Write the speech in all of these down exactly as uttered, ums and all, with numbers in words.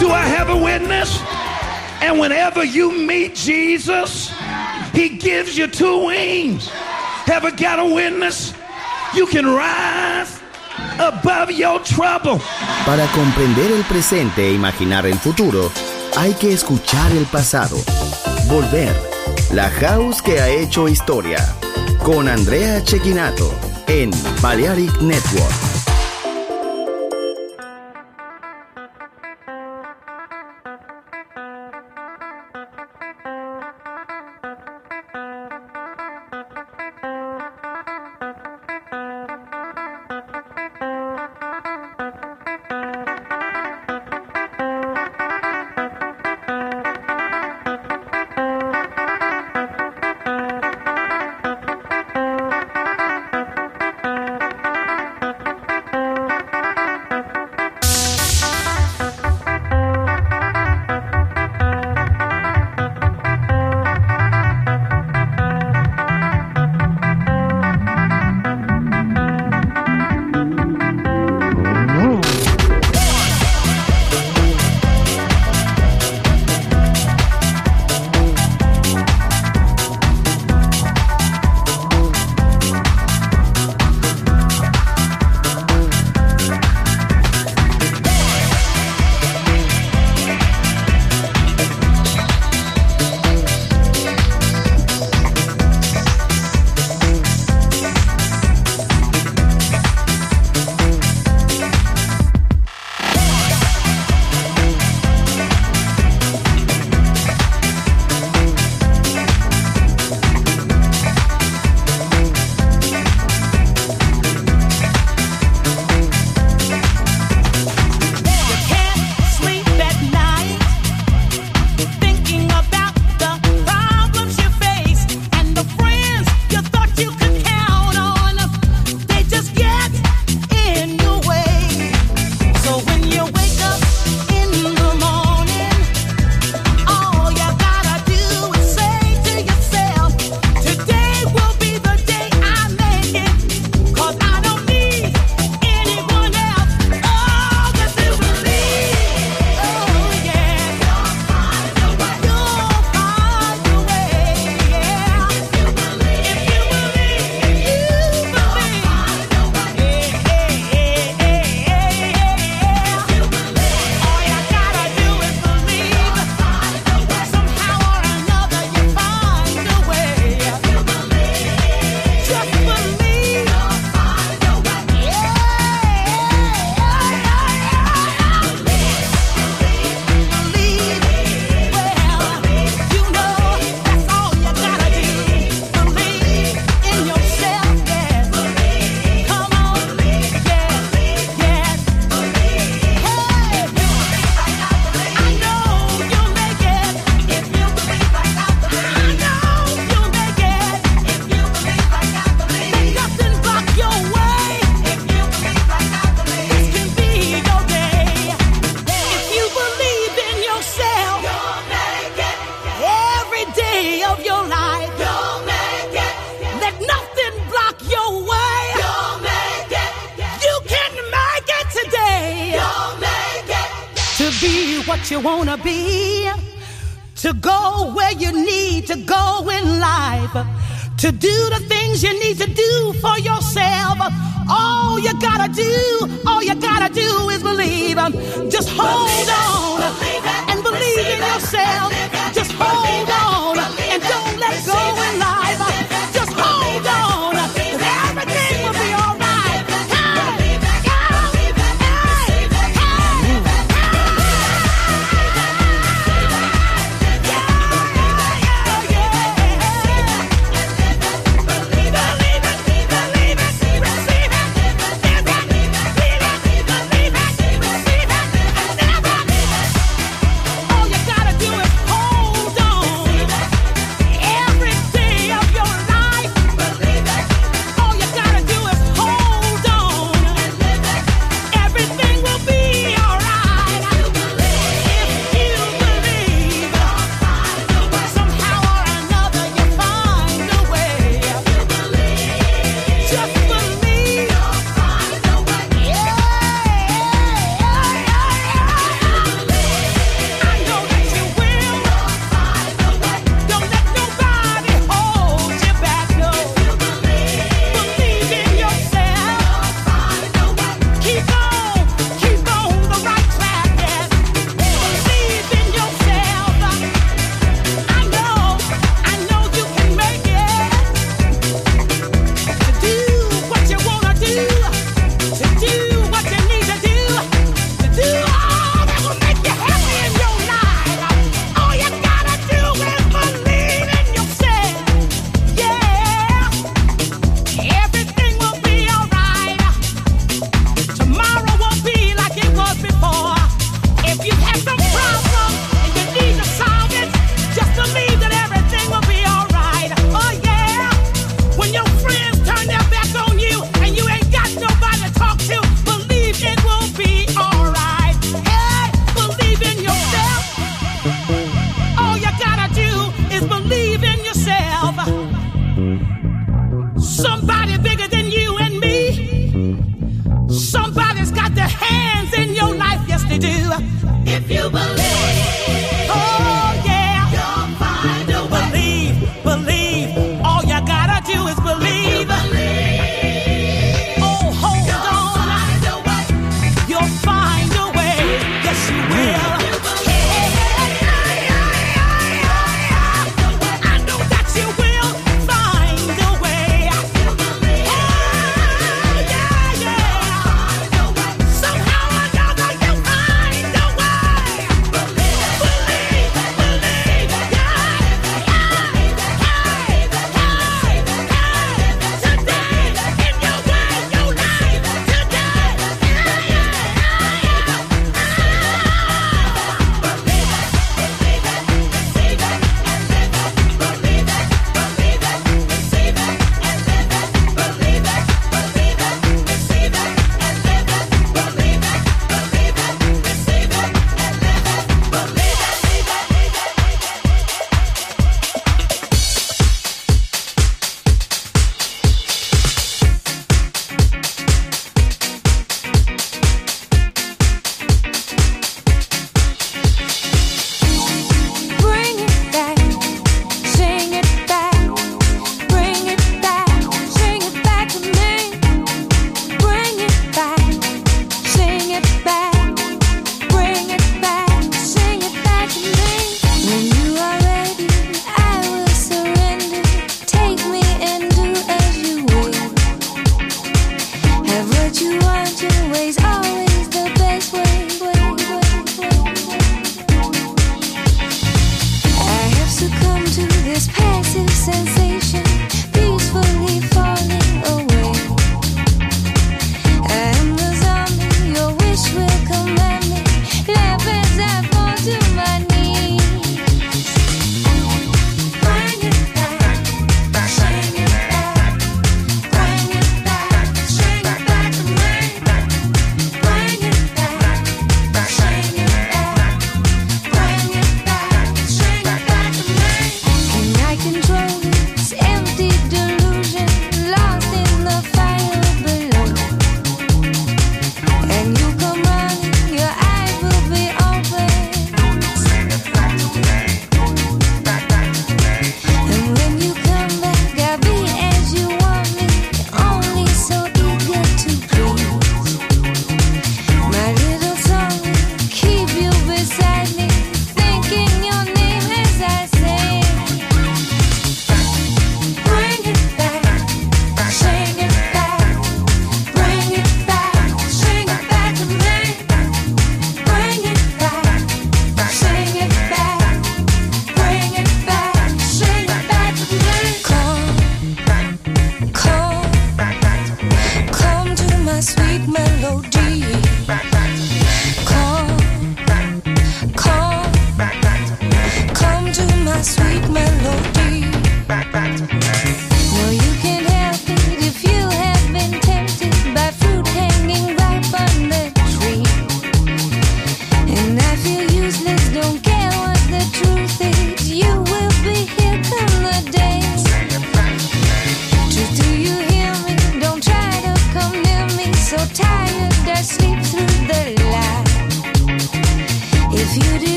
Do I have a witness? And whenever you meet Jesus, he gives you two wings. Have I got a witness? You can rise above your trouble. Para comprender el presente e imaginar el futuro, hay que escuchar el pasado. Volver. La House que ha hecho historia. Con Andrea Cecchinato en Balearic Network. You wanna be, to go where you need to go in life, to do the things you need to do for yourself. All you gotta do, all you gotta do is believe. Just hold on and believe in yourself. Just hold on and don't let go in life. Just hold on, everything will be all right. If you believe, oh yeah, you'll find a way. Believe, believe. All you gotta do is believe. Believe. Oh, hold you'll on. Find a way. You'll find a way. Yes, you will.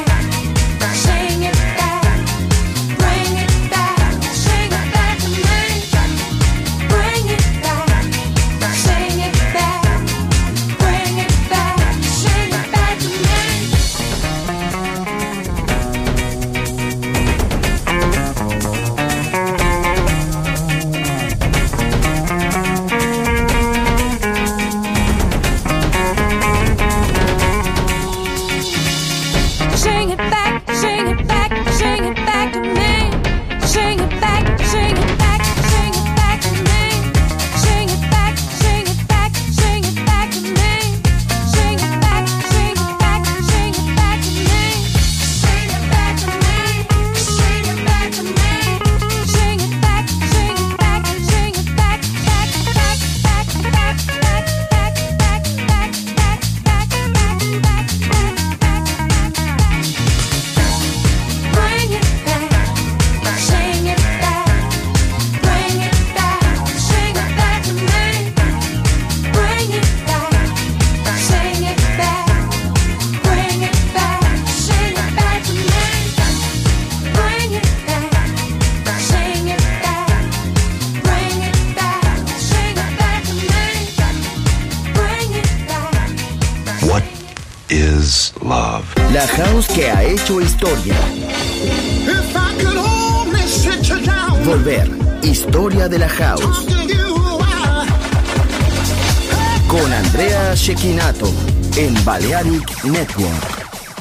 Bring it back, sing it back to me. is love. La house que ha hecho historia. If I could only sit you down. Volver. Historia de la house. Con Andrea Cecchinato en Balearic Network.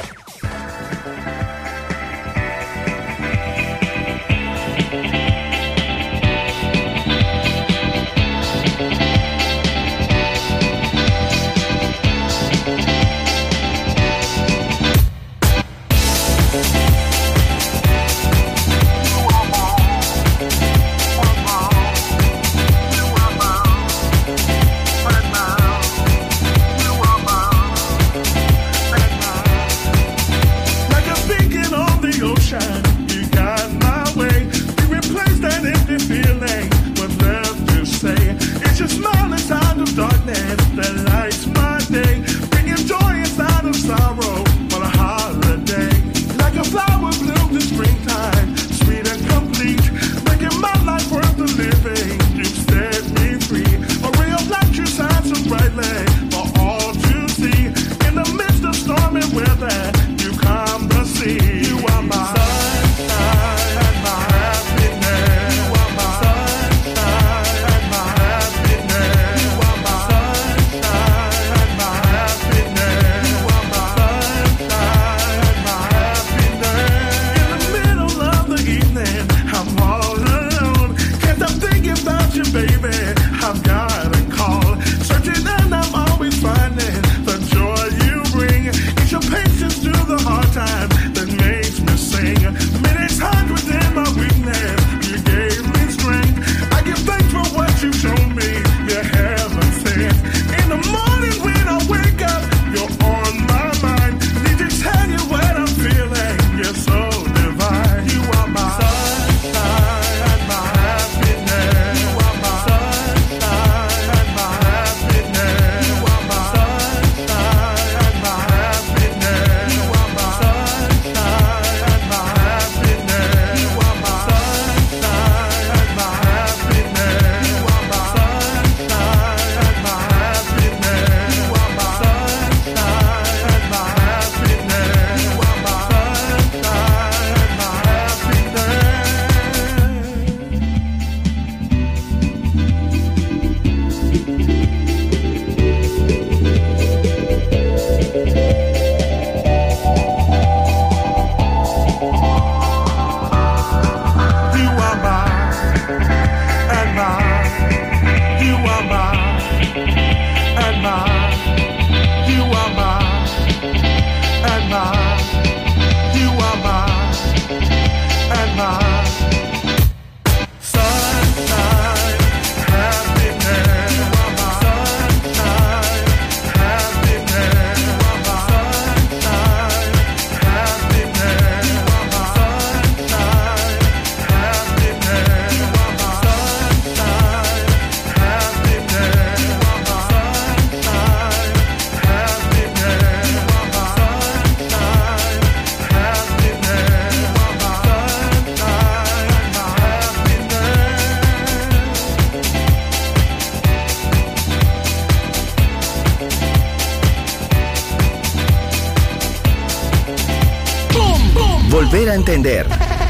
Volver a entender.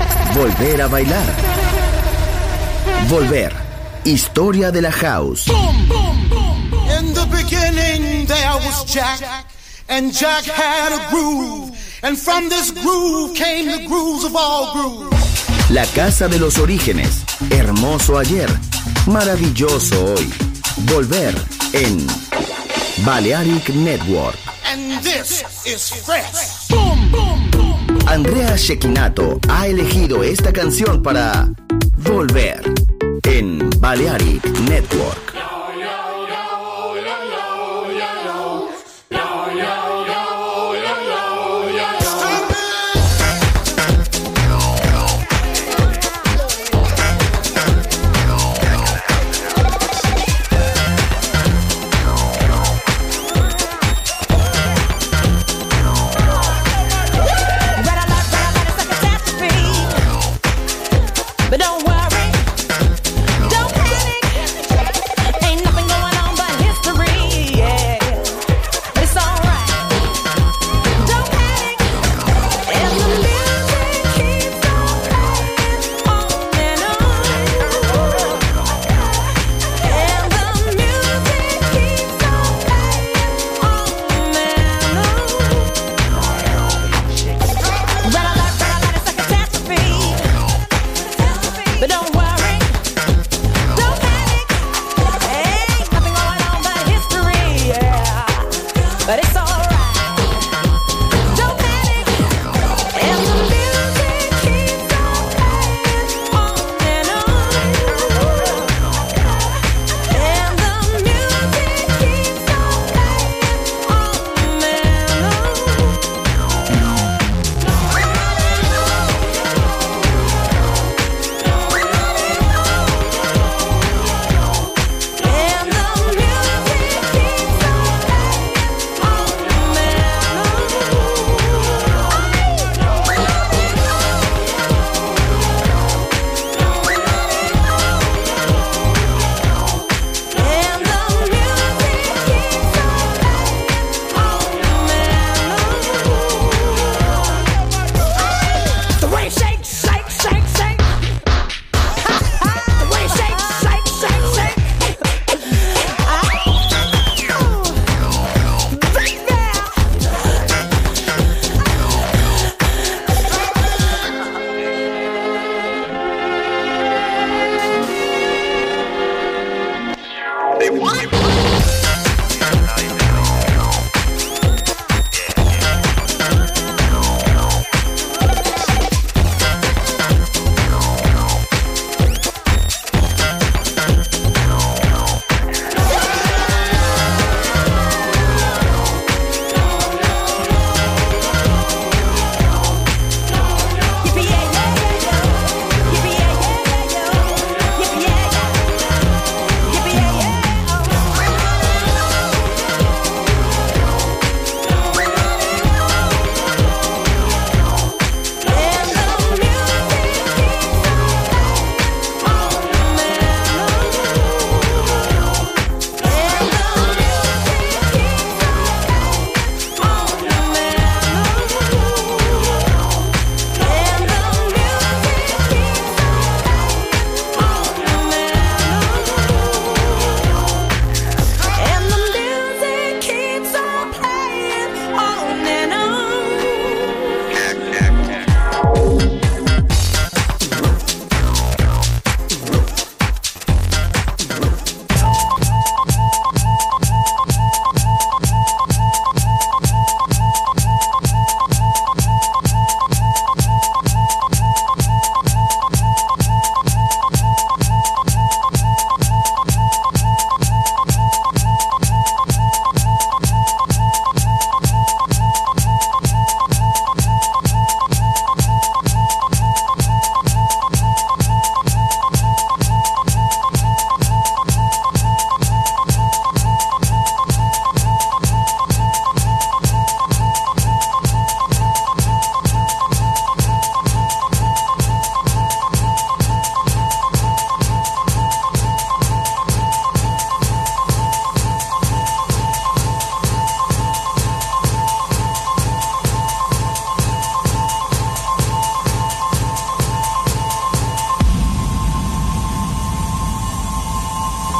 Volver a bailar. Volver. Historia de la house. In the beginning there was Jack, and Jack had a groove, and from this groove came the grooves of all grooves. La casa de los orígenes. Hermoso ayer. Maravilloso hoy. Volver en Balearic Network. And this is fresh. Andrea Cecchinato ha elegido esta canción para Volver en Balearic Network. But don't worry, don't panic.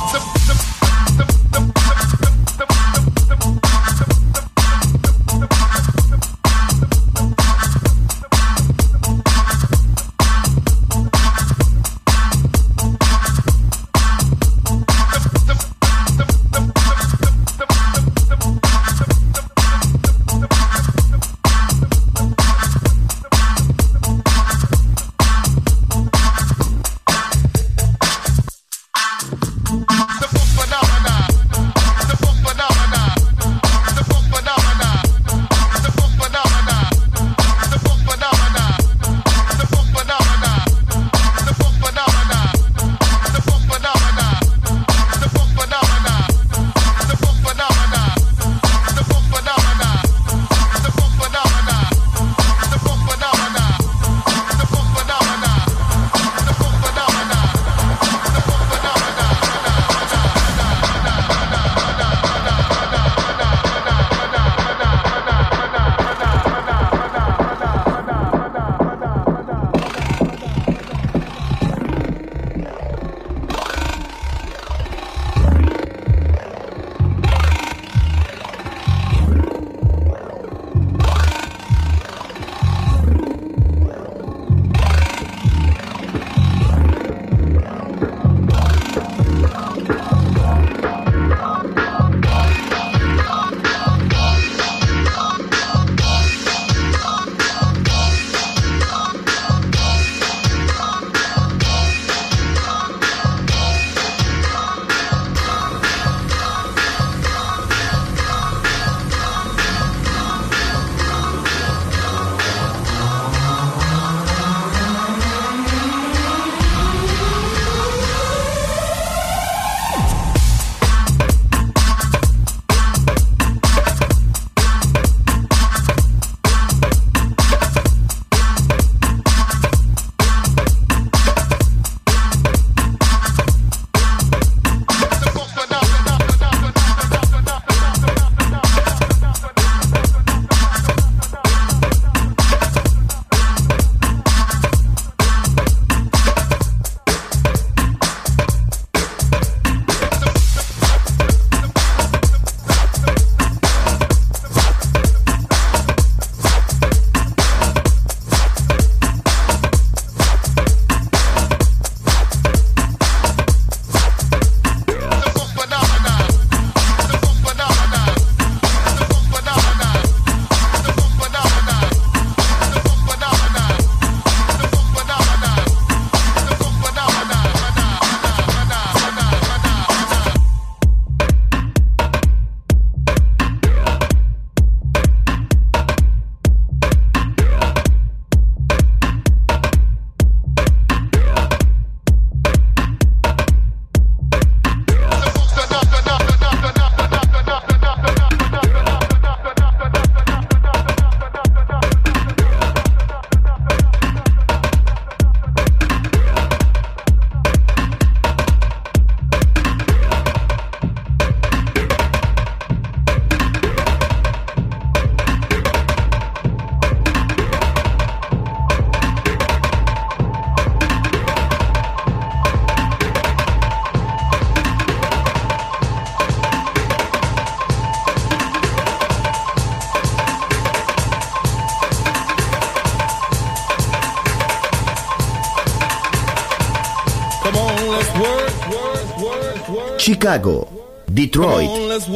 Chicago, Detroit,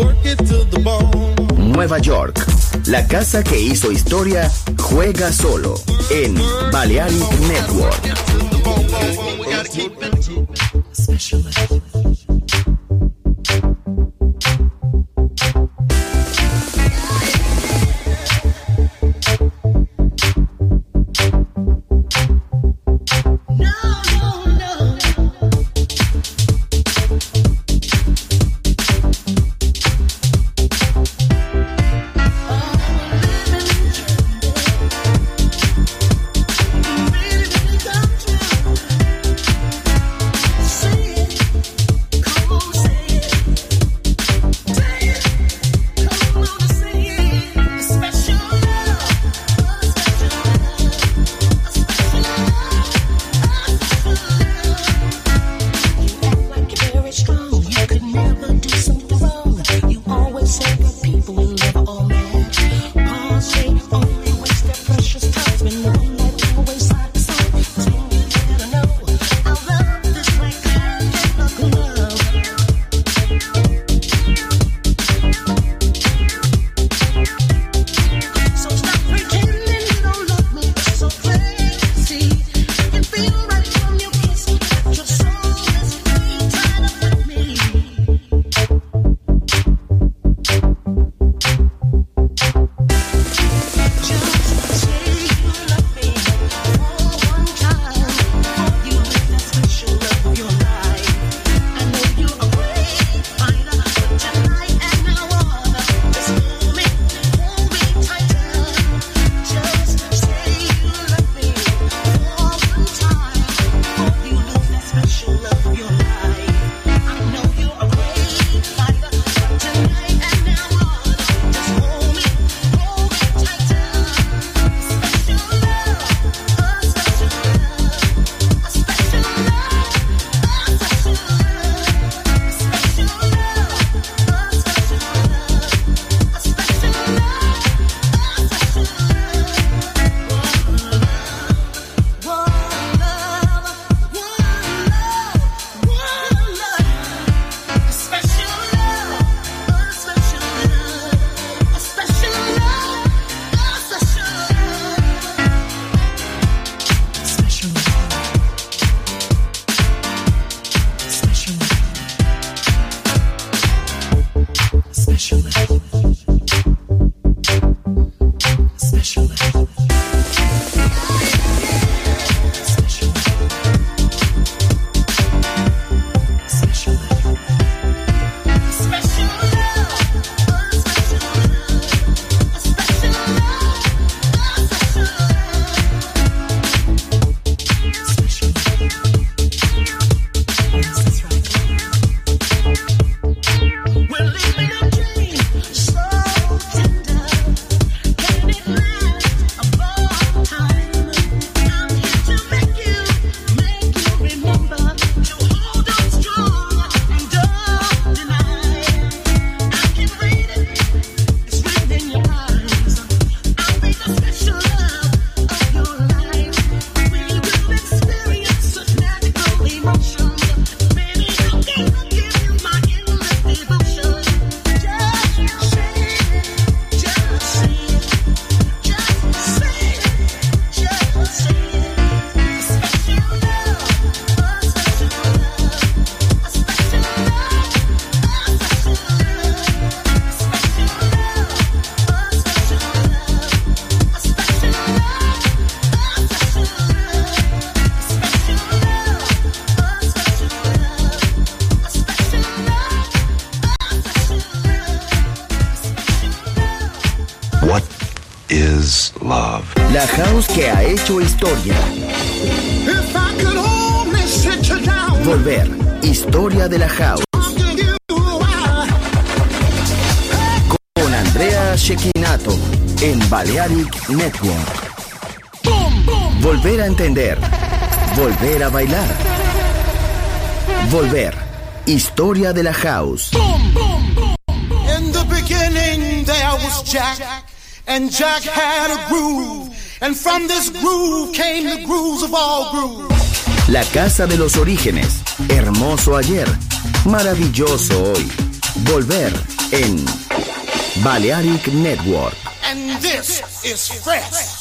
Nueva York. La casa que hizo historia juega solo en Balearic Network. is love. La house que ha hecho historia. If I could only sit you down. Volver. Historia de la house. Con Andrea Cecchinato en Balearic Network. Volver a entender. Volver a bailar. Volver. Historia de la house. In the beginning there was Jack, and Jack had a groove, and from this groove came the grooves of all grooves. La casa de los orígenes. Hermoso ayer. Maravilloso hoy. Volver en Balearic Network. And this is fresh.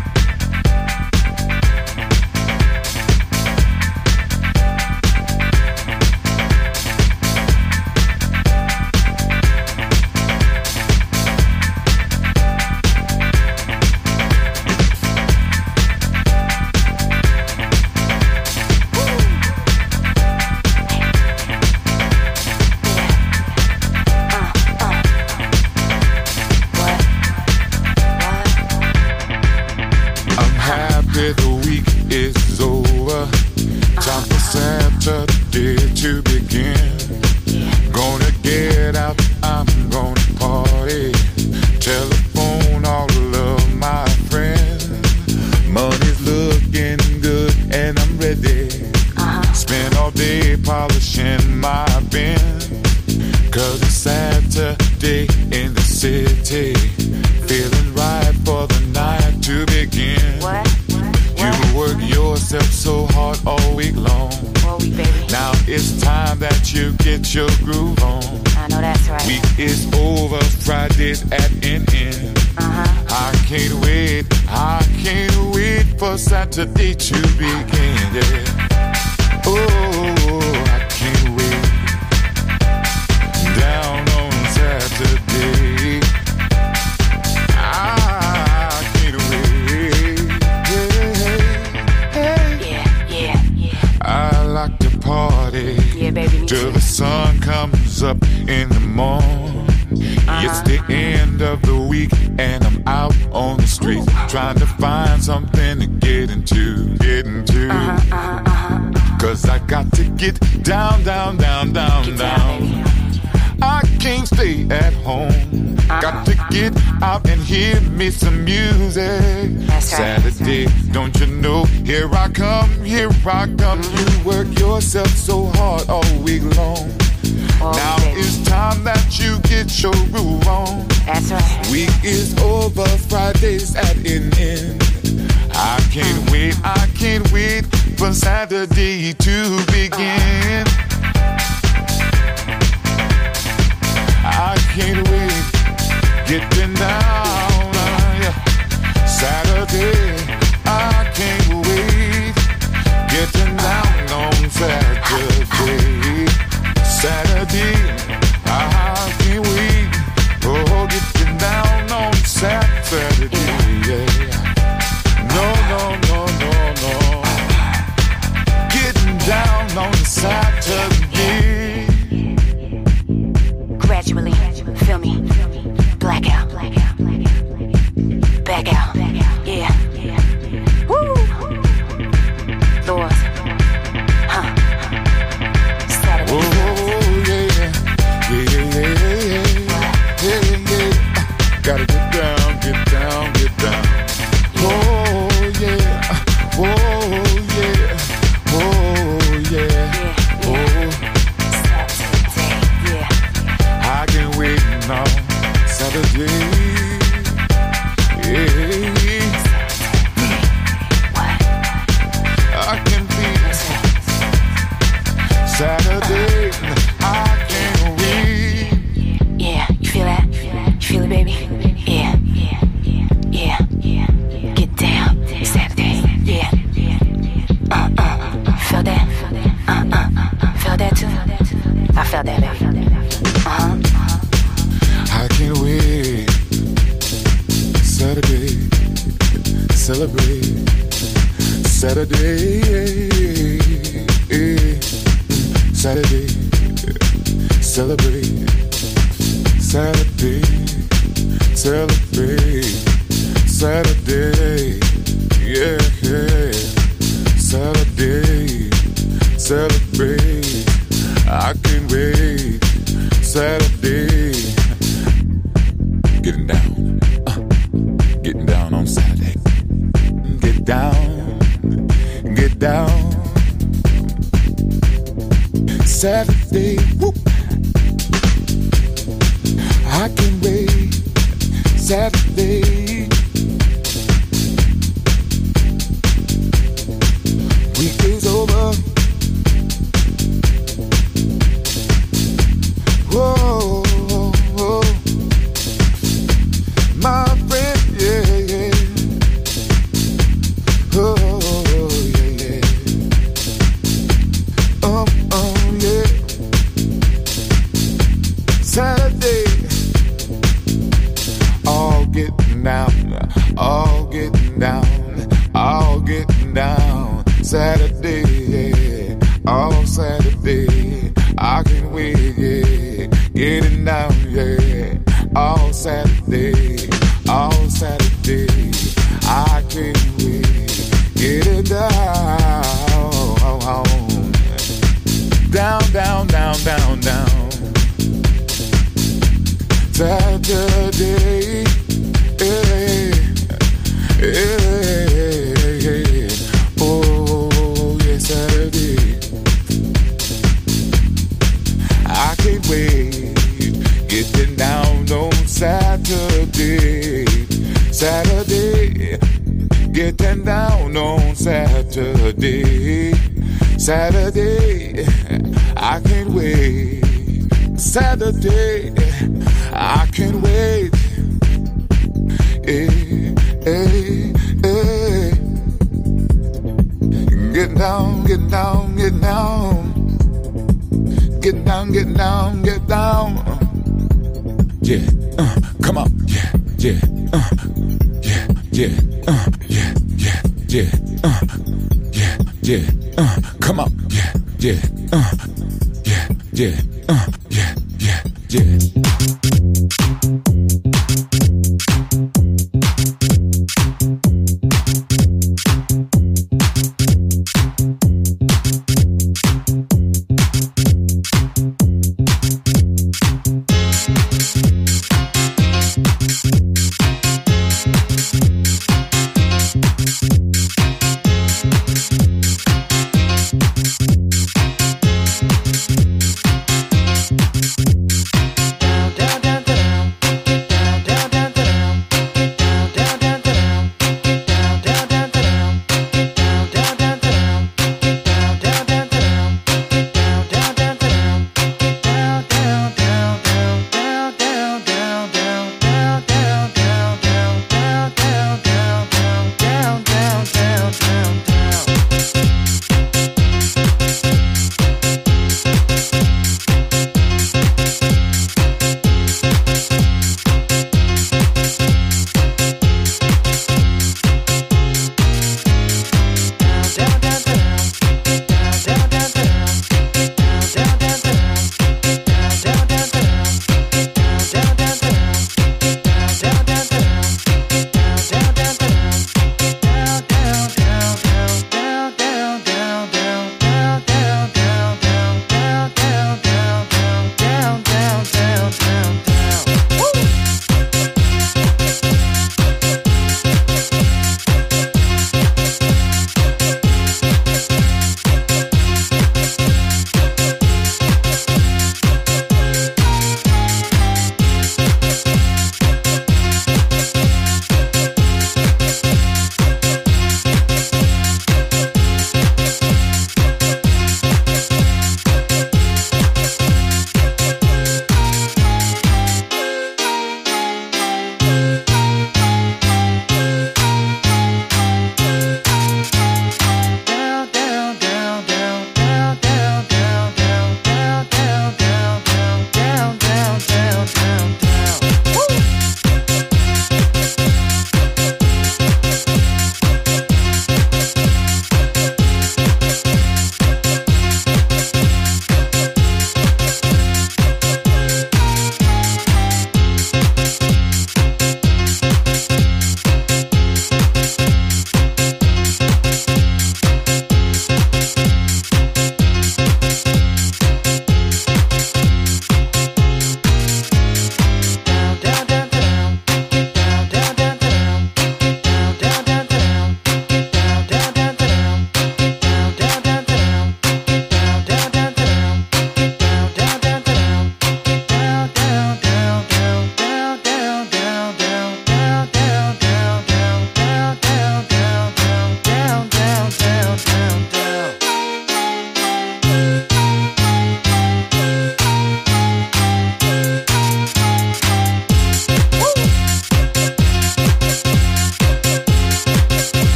The week is over. Time for Saturday to begin. Gonna get out, I'm gonna party. Telephone all of my friends. Money's looking good and I'm ready. Spend all day polishing my bin. Cause it's Saturday in the city. Feeling right for the night to begin. What? You work yourself so hard all week long. All week, baby. Now it's time that you get your groove on. I know that's right. Week is over, Friday's at an end. Uh-huh. I can't wait, I can't wait for Saturday to begin. Yeah. Oh, I can't wait. Down on Saturday. I can't wait. Yeah, yeah, yeah. I like to party. Yeah, baby, me till too. the sun comes up in the morning. Uh-huh. It's the end of the week and I'm out on the street trying to find something to get into, get into. Uh-huh, uh-huh, uh-huh. Cause I got to get down, down, down, down, Get down. down, I can't stay at home. Uh-huh. Got to get out and hear me some music. That's right. Saturday, don't you know? Here I come, here I come. You work yourself so hard all week long. Oh, Now baby. it's time that you get your groove on. That's right. Week is over, Friday's at an end. I can't wait, I can't wait for Saturday to begin. I can't wait, getting down, uh, yeah. Saturday, I can't wait, getting down on Saturday. Saturday, I can't wait, oh, getting down on Saturday, yeah. No, no, no, no, no, getting down on Saturday. Gradually, feel me, blackout, back out, yeah, woo, Lord, huh, Saturday. Oh, yeah, yeah, yeah, yeah, yeah, yeah, yeah. Gotta get down, get down, get down. Oh, yeah, oh, yeah, oh, yeah, oh. Saturday, yeah. I can't wait now, Saturday. Yeah. I can feel Saturday. I can't wait. Yeah, you feel that? You feel it, baby? Yeah, yeah, yeah. Get down, Saturday. Yeah. Uh uh. Feel that? Uh uh. Feel that too? I felt that, baby. Uh huh. I can't wait. Saturday, celebrate. Saturday, Saturday, celebrate. Saturday, celebrate. Saturday, yeah, yeah. Saturday, celebrate. I can't wait. Saturday, getting down, uh, getting down on Saturday. Get down, get down. Saturday, whoop. I can't wait. Saturday. Weekend's over. Whoa, whoa, my friend, yeah, yeah. Oh, yeah, yeah. Oh, oh, yeah. Saturday, all getting down, all getting down, all getting down. Saturday, yeah, all Saturday, I can't wait, yeah, getting down, yeah, all Saturday, all Saturday, I can't wait, getting down, down, down, down, down, down, Saturday, yeah, yeah, yeah, oh, yeah, Saturday, I can't wait, getting down on Saturday, Saturday, getting down on Saturday, Saturday, I can't wait, Saturday, I can't wait, hey, hey, hey, get down, get down, get down. Get down, get down, get down. Yeah, uh, come on. Yeah, yeah, uh, yeah, yeah, uh, yeah, yeah, yeah, uh, yeah, yeah, uh, come on. Yeah, yeah, uh, yeah, yeah, uh, yeah, yeah, yeah.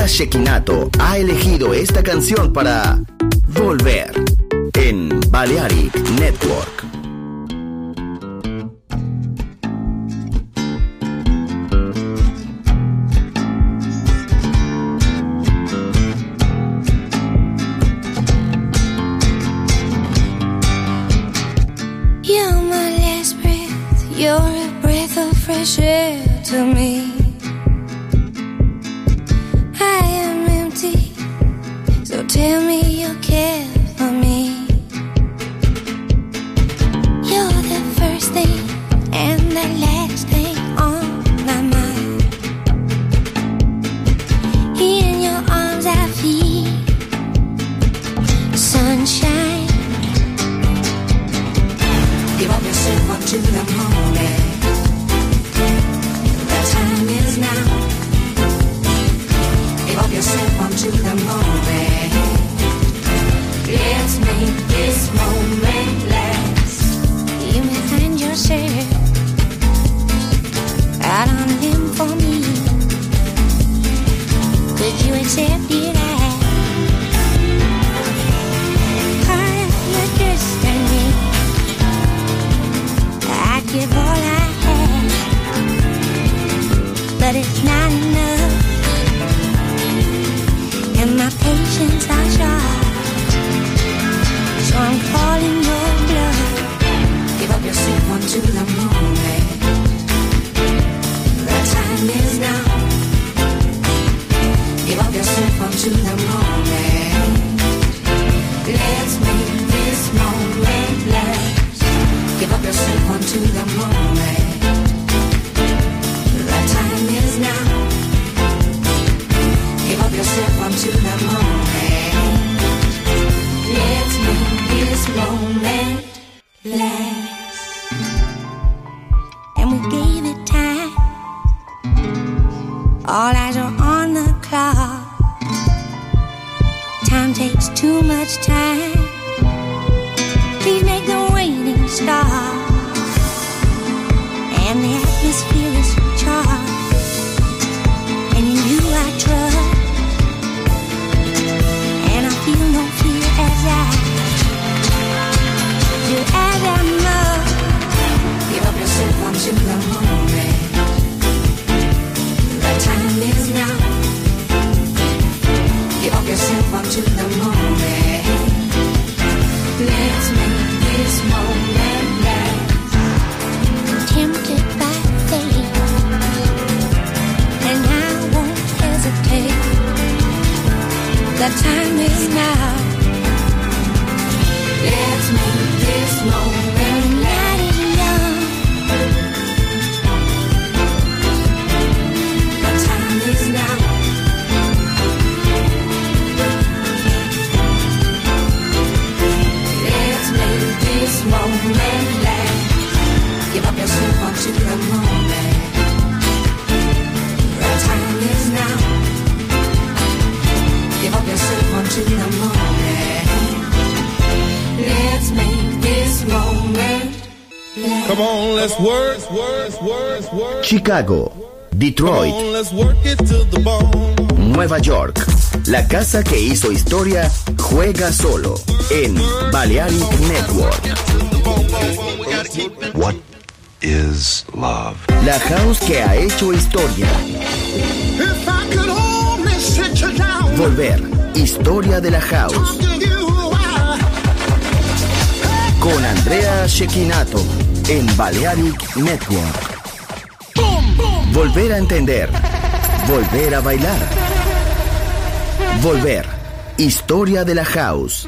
Andrea Cecchinato ha elegido esta canción para Volver en Balearic Network. You're my last breath, you're a breath of fresh air to me. I am empty, so tell me you care for me. You're the first thing and the last thing on my mind. In your arms I feel sunshine. Give up yourself up to the moment. The time is now. Give up yourself up to the moment. Let's make this moment last. You may find yourself out on a limb for me. Could you accept it as part of your destiny? I'd give all I have, but it's not enough, and my patience are short, so I'm calling your bluff. Give up yourself onto the moment. The time is now. Give up yourself onto the moment. Let's make this moment last. Give up yourself onto the moment. The time is now. Give up yourself onto the moment. Let's make this moment last. And we gave it time. All eyes are on the clock. Time takes too much time. Please make the waiting stop. And the atmosphere is charged, and in you I trust, and I feel no fear as I do as I must. Give up yourself onto the moment. The time is now. Give up yourself onto the moment. Let's make this moment last. Tempted by fate, and I won't hesitate. The time is now. Let's make this moment night is young. The time is now. Let's make this moment last. Give up yourself onto the moment. The time is now. Give up yourself onto the moment. Let's make this moment last. Come on, let's work, work, work, work. Chicago, Detroit, Come on, let's work it to the bone. Nueva York. La casa que hizo historia juega solo en Balearic Network. What is love? La house que ha hecho historia. If I could only sit you down, Volver, historia de la house. talk to you a while. Con Andrea Cecchinato en Balearic Network. Volver a entender. Volver a bailar. Volver, historia de la house.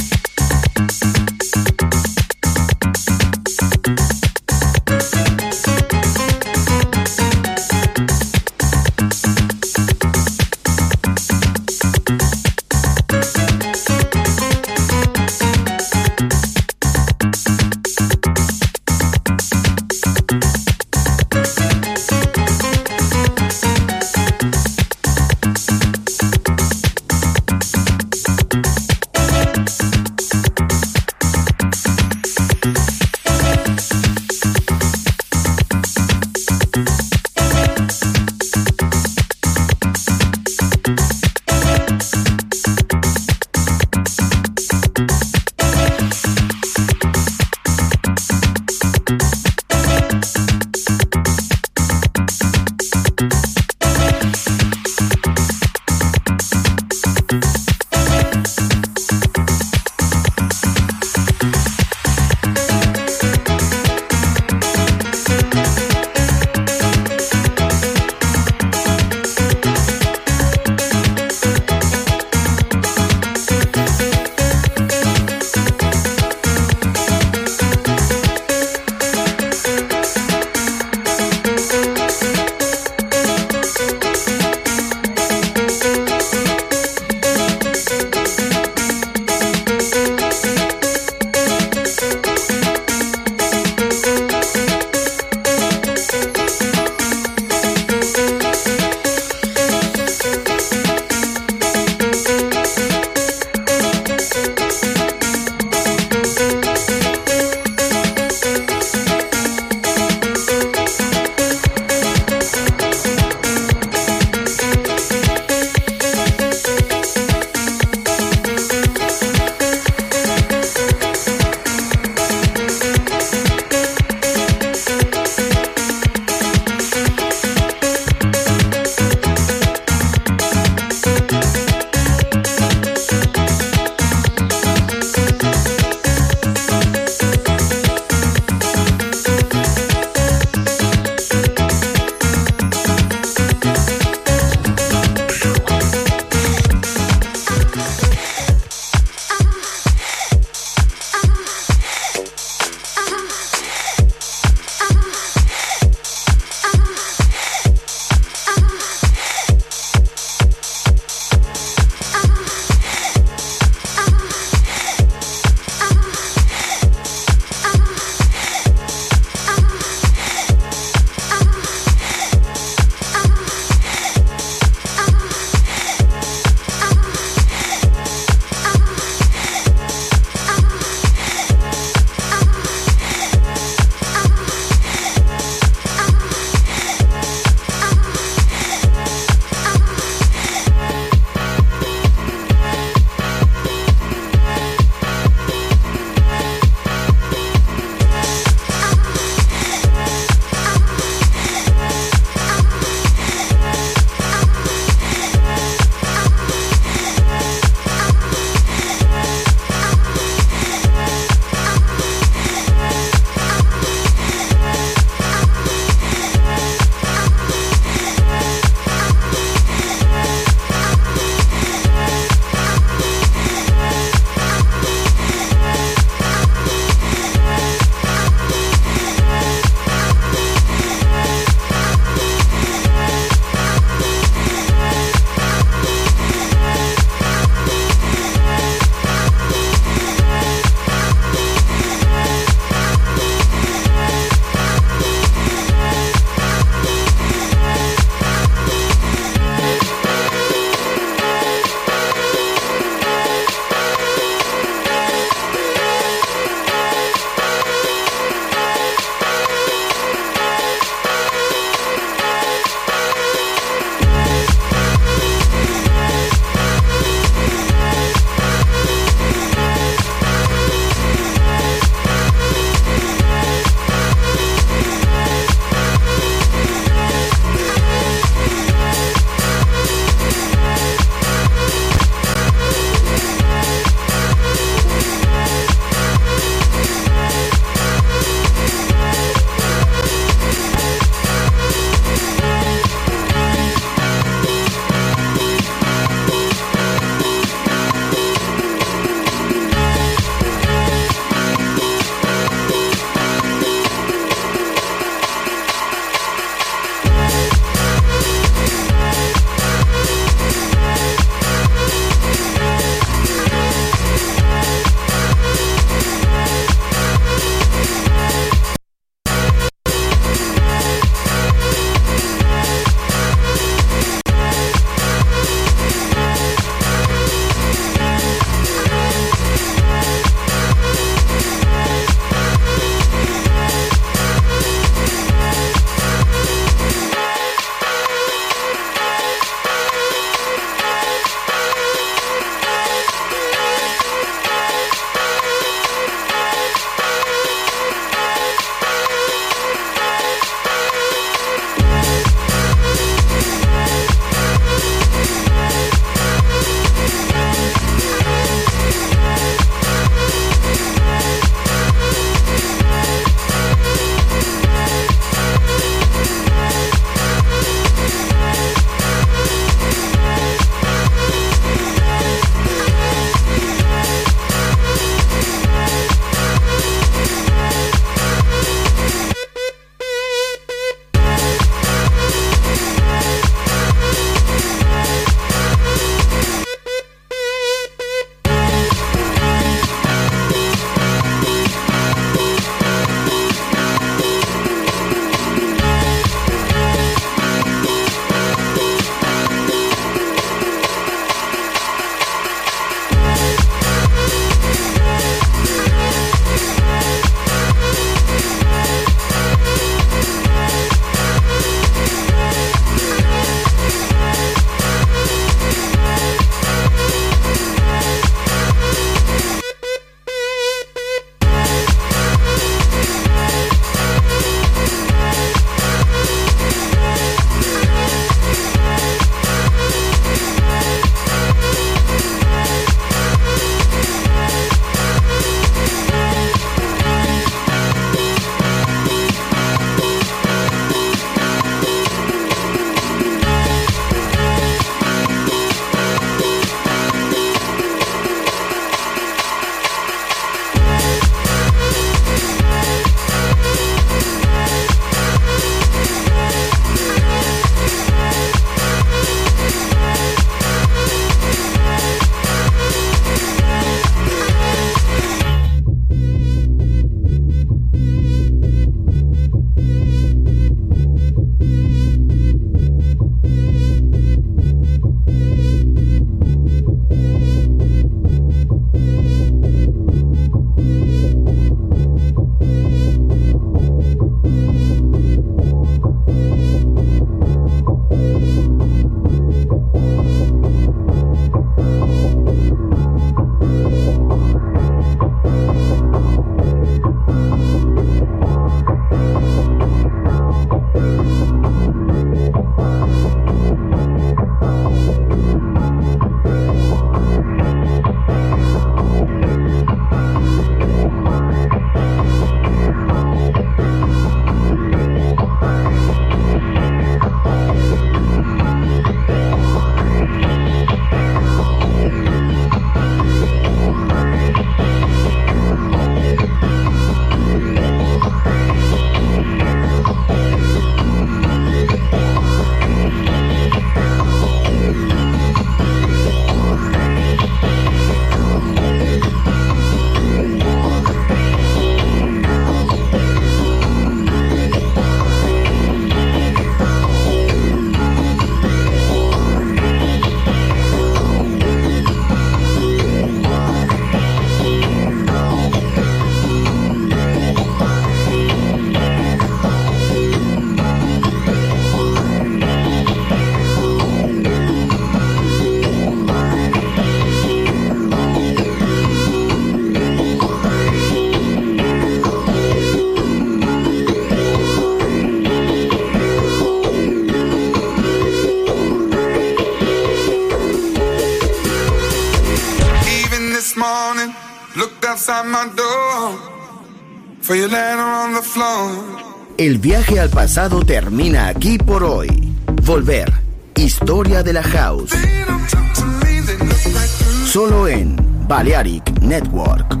before you land on the floor. El viaje al pasado termina aquí por hoy. Volver. Historia de la House. Solo en Balearic Network.